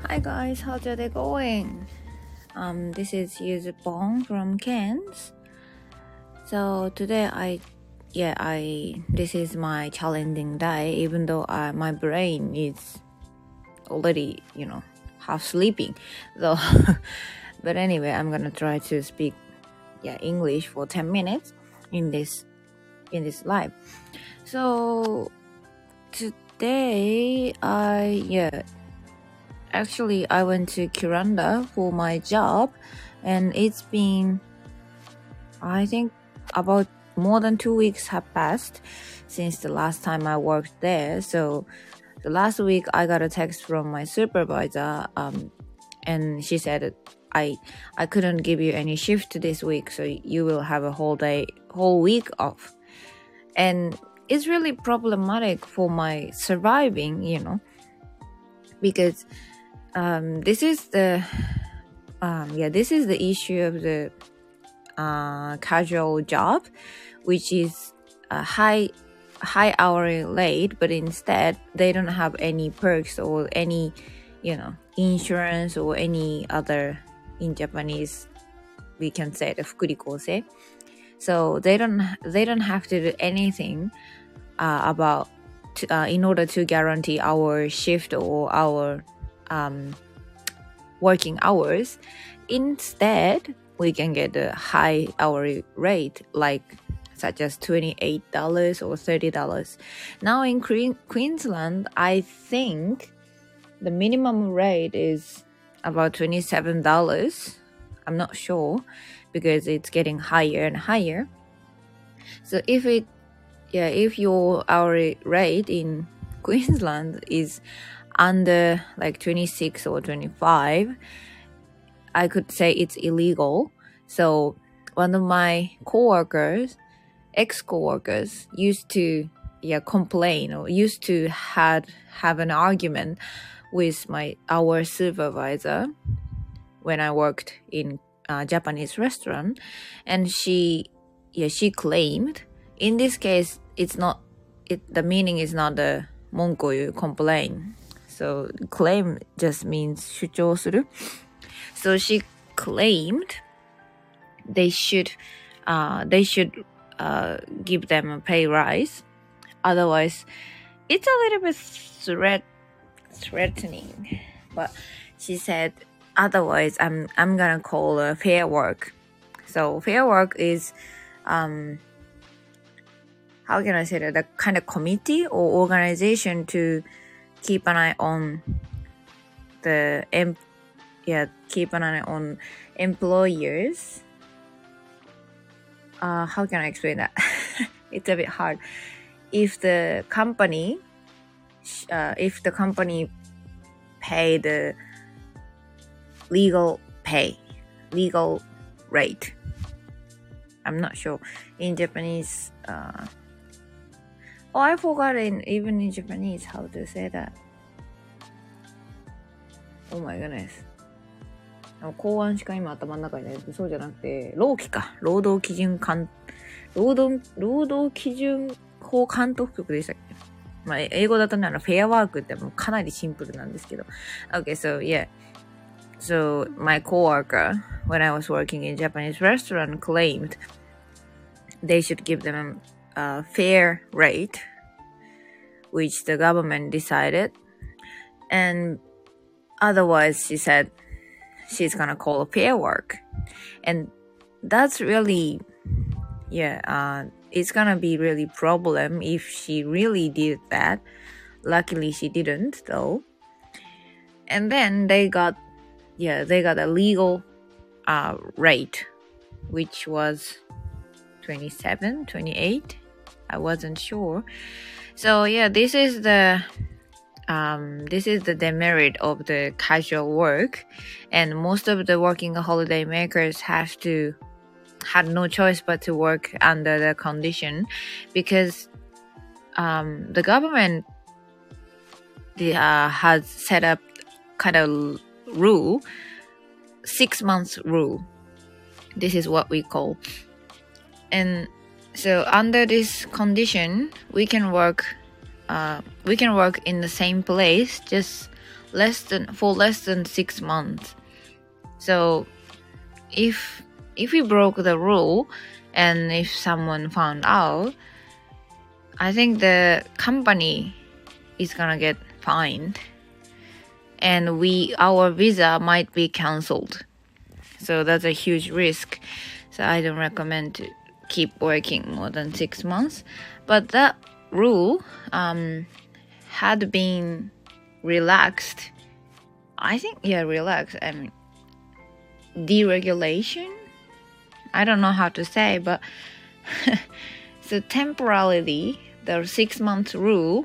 Hi guys, how's your day going? This is Yuzu Bong from Cairns. So today this is my challenging day, even though my brain is already, half sleeping. So, but anyway, I'm gonna try to speak, English for 10 minutes in this live. So today, Actually, I went to Kuranda for my job, and it's been, I think, about more than 2 weeks have passed since the last time I worked there. So the last week I got a text from my supervisor, and she said, I couldn't give you any shift this week, so you will have a whole week off. And it's really problematic for my surviving, because this is the issue of the casual job, which is a high hourly rate, but instead they don't have any perks or any insurance or any other, in Japanese we can say the fukurikose. So they don't have to do anything in order to guarantee our shift or our working hours. Instead, we can get a high hourly rate, such as $28 or $30. Now in Queensland, I think the minimum rate is about $27. I'm not sure because it's getting higher and higher. So if your hourly rate in Queensland is under 26 or 25, I could say it's illegal. So one of my ex-coworkers used to complain or used to have an argument with our supervisor when I worked in a Japanese restaurant, and she claimed, in this case the meaning is not the monkoyu, complain. So claim just means 主張する. So she claimed they should give them a pay rise. Otherwise, it's a little bit threatening. But she said, otherwise I'm gonna call a fair work. So fair work is how can I say that, the kind of committee or organization to keep an eye on employers. How can I explain that? It's a bit hard. If the company pay the legal rate. I'm not sure in Japanese. I forgot even in Japanese how to say that. Oh my goodness. 公安しか今頭の中にない。そうじゃなくて、労基か。労働基準法監督局でしたっけ。まあ、英語だとね、フェアワークってもうかなりシンプルなんですけど。Okay, so yeah. So my coworker, when I was working in a Japanese restaurant, claimed they should give them a fair rate, which the government decided. And otherwise, she said she's gonna call a fair work. And that's really, it's gonna be really problem if she really did that. Luckily, she didn't, though. And then they got a legal rate, which was 27, 28. I wasn't sure. So this is the demerit of the casual work, and most of the working holiday makers had no choice but to work under the condition, because the government has set up kind of rule, 6 months rule. This is what we call. And so under this condition, we can work in the same place, just less than 6 months. So if we broke the rule and if someone found out, I think the company is gonna get fined and our visa might be cancelled. So that's a huge risk. So I don't recommend to keep working more than 6 months. But that rule had been relaxed. I think, relaxed. I mean, deregulation? I don't know how to say, but so temporarily the 6-month rule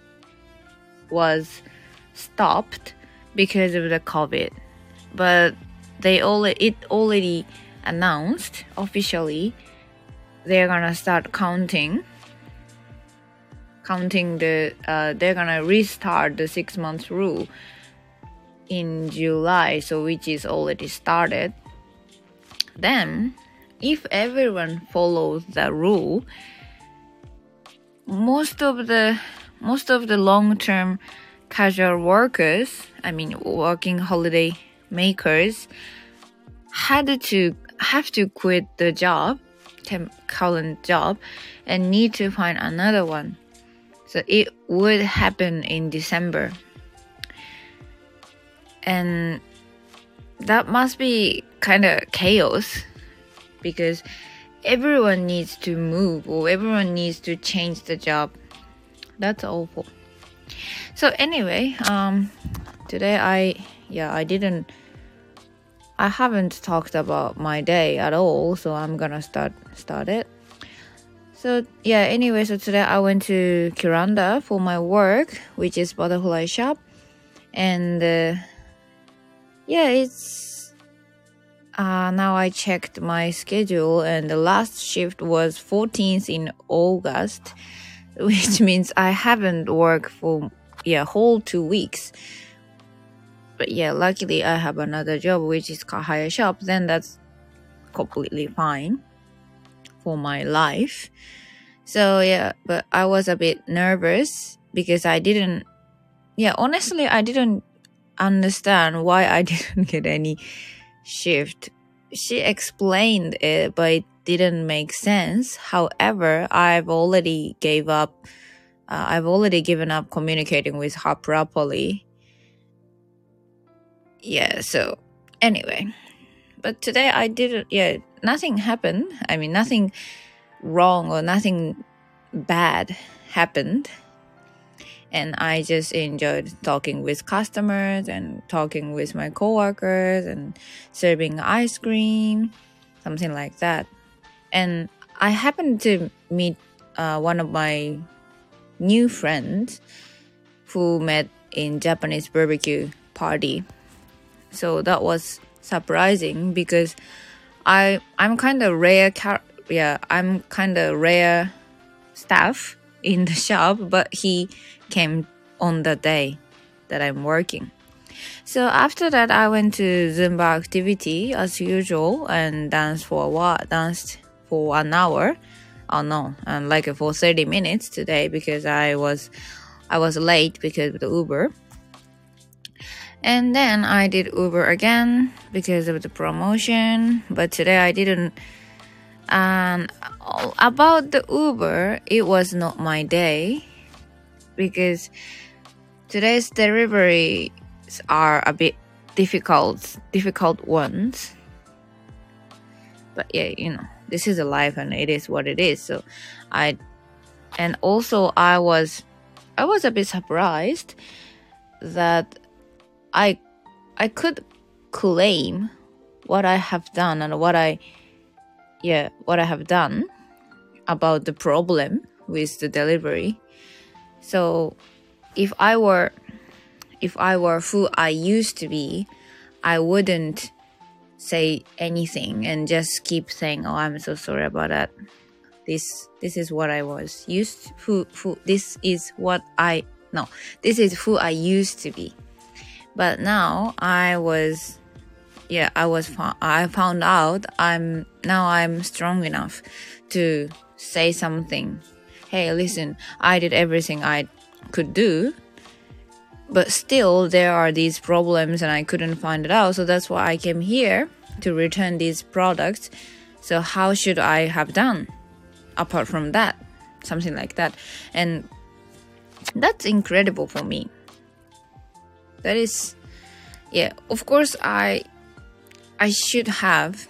was stopped because of the COVID. But it already announced officially they're gonna start counting they're gonna restart the 6-month rule in July, so which is already started. Then if everyone follows the rule, most of the long-term casual workers, I mean working holiday makers, have to quit the current job and need to find another one. So it would happen in December. And that must be kind of chaos because everyone needs to move or everyone needs to change the job. That's awful. So anyway, today I haven't talked about my day at all, so I'm gonna start it. So anyway, so today I went to Kuranda for my work, which is butterfly shop, and it's now I checked my schedule, and the last shift was 14th in August, which means I haven't worked for whole 2 weeks. But luckily I have another job, which is car hire shop. Then that's completely fine for my life. So but I was a bit nervous because honestly I didn't understand why I didn't get any shift. She explained it, but it didn't make sense. However, I've already given up communicating with her properly. So anyway, but today I didn't, nothing happened. I mean, nothing wrong or nothing bad happened. And I just enjoyed talking with customers and talking with my coworkers and serving ice cream, something like that. And I happened to meet one of my new friends who met in Japanese barbecue party. So that was surprising because I'm kind of rare staff in the shop, but he came on the day that I'm working. So after that, I went to Zumba activity as usual and danced for an hour. Oh no, and like for 30 minutes today because I was late because of the Uber. And then I did Uber again because of the promotion, but today I didn't. And about the Uber, it was not my day because today's deliveries are a bit difficult ones. But this is a life and it is what it is. So I was a bit surprised that I could claim what I have done and what I have done about the problem with the delivery. So if I were who I used to be, I wouldn't say anything and just keep saying, "Oh, I'm so sorry about that. This is what I was used to. This is who I used to be." But now I found out I'm strong enough to say something. Hey, listen, I did everything I could do. But still, there are these problems and I couldn't find it out. So that's why I came here to return these products. So how should I have done apart from that? Something like that. And that's incredible for me. That is, yeah, of course I should have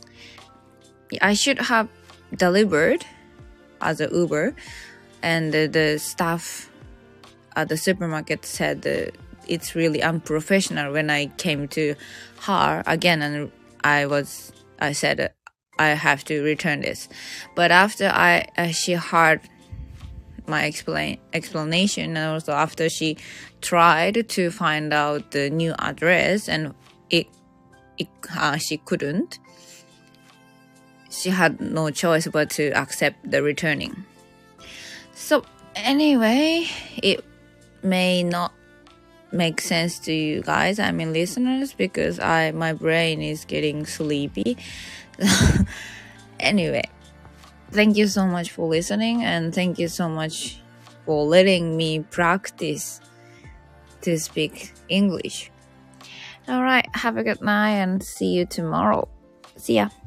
delivered as a Uber, and the staff at the supermarket said it's really unprofessional when I came to her again, and I said I have to return this. But after she heard my explanation, and also after she tried to find out the new address and she couldn't, she had no choice but to accept the returning. So anyway, it may not make sense to you guys, I mean listeners, because my brain is getting sleepy. Anyway, thank you so much for listening, and thank you so much for letting me practice to speak English. Alright, have a good night and see you tomorrow. See ya.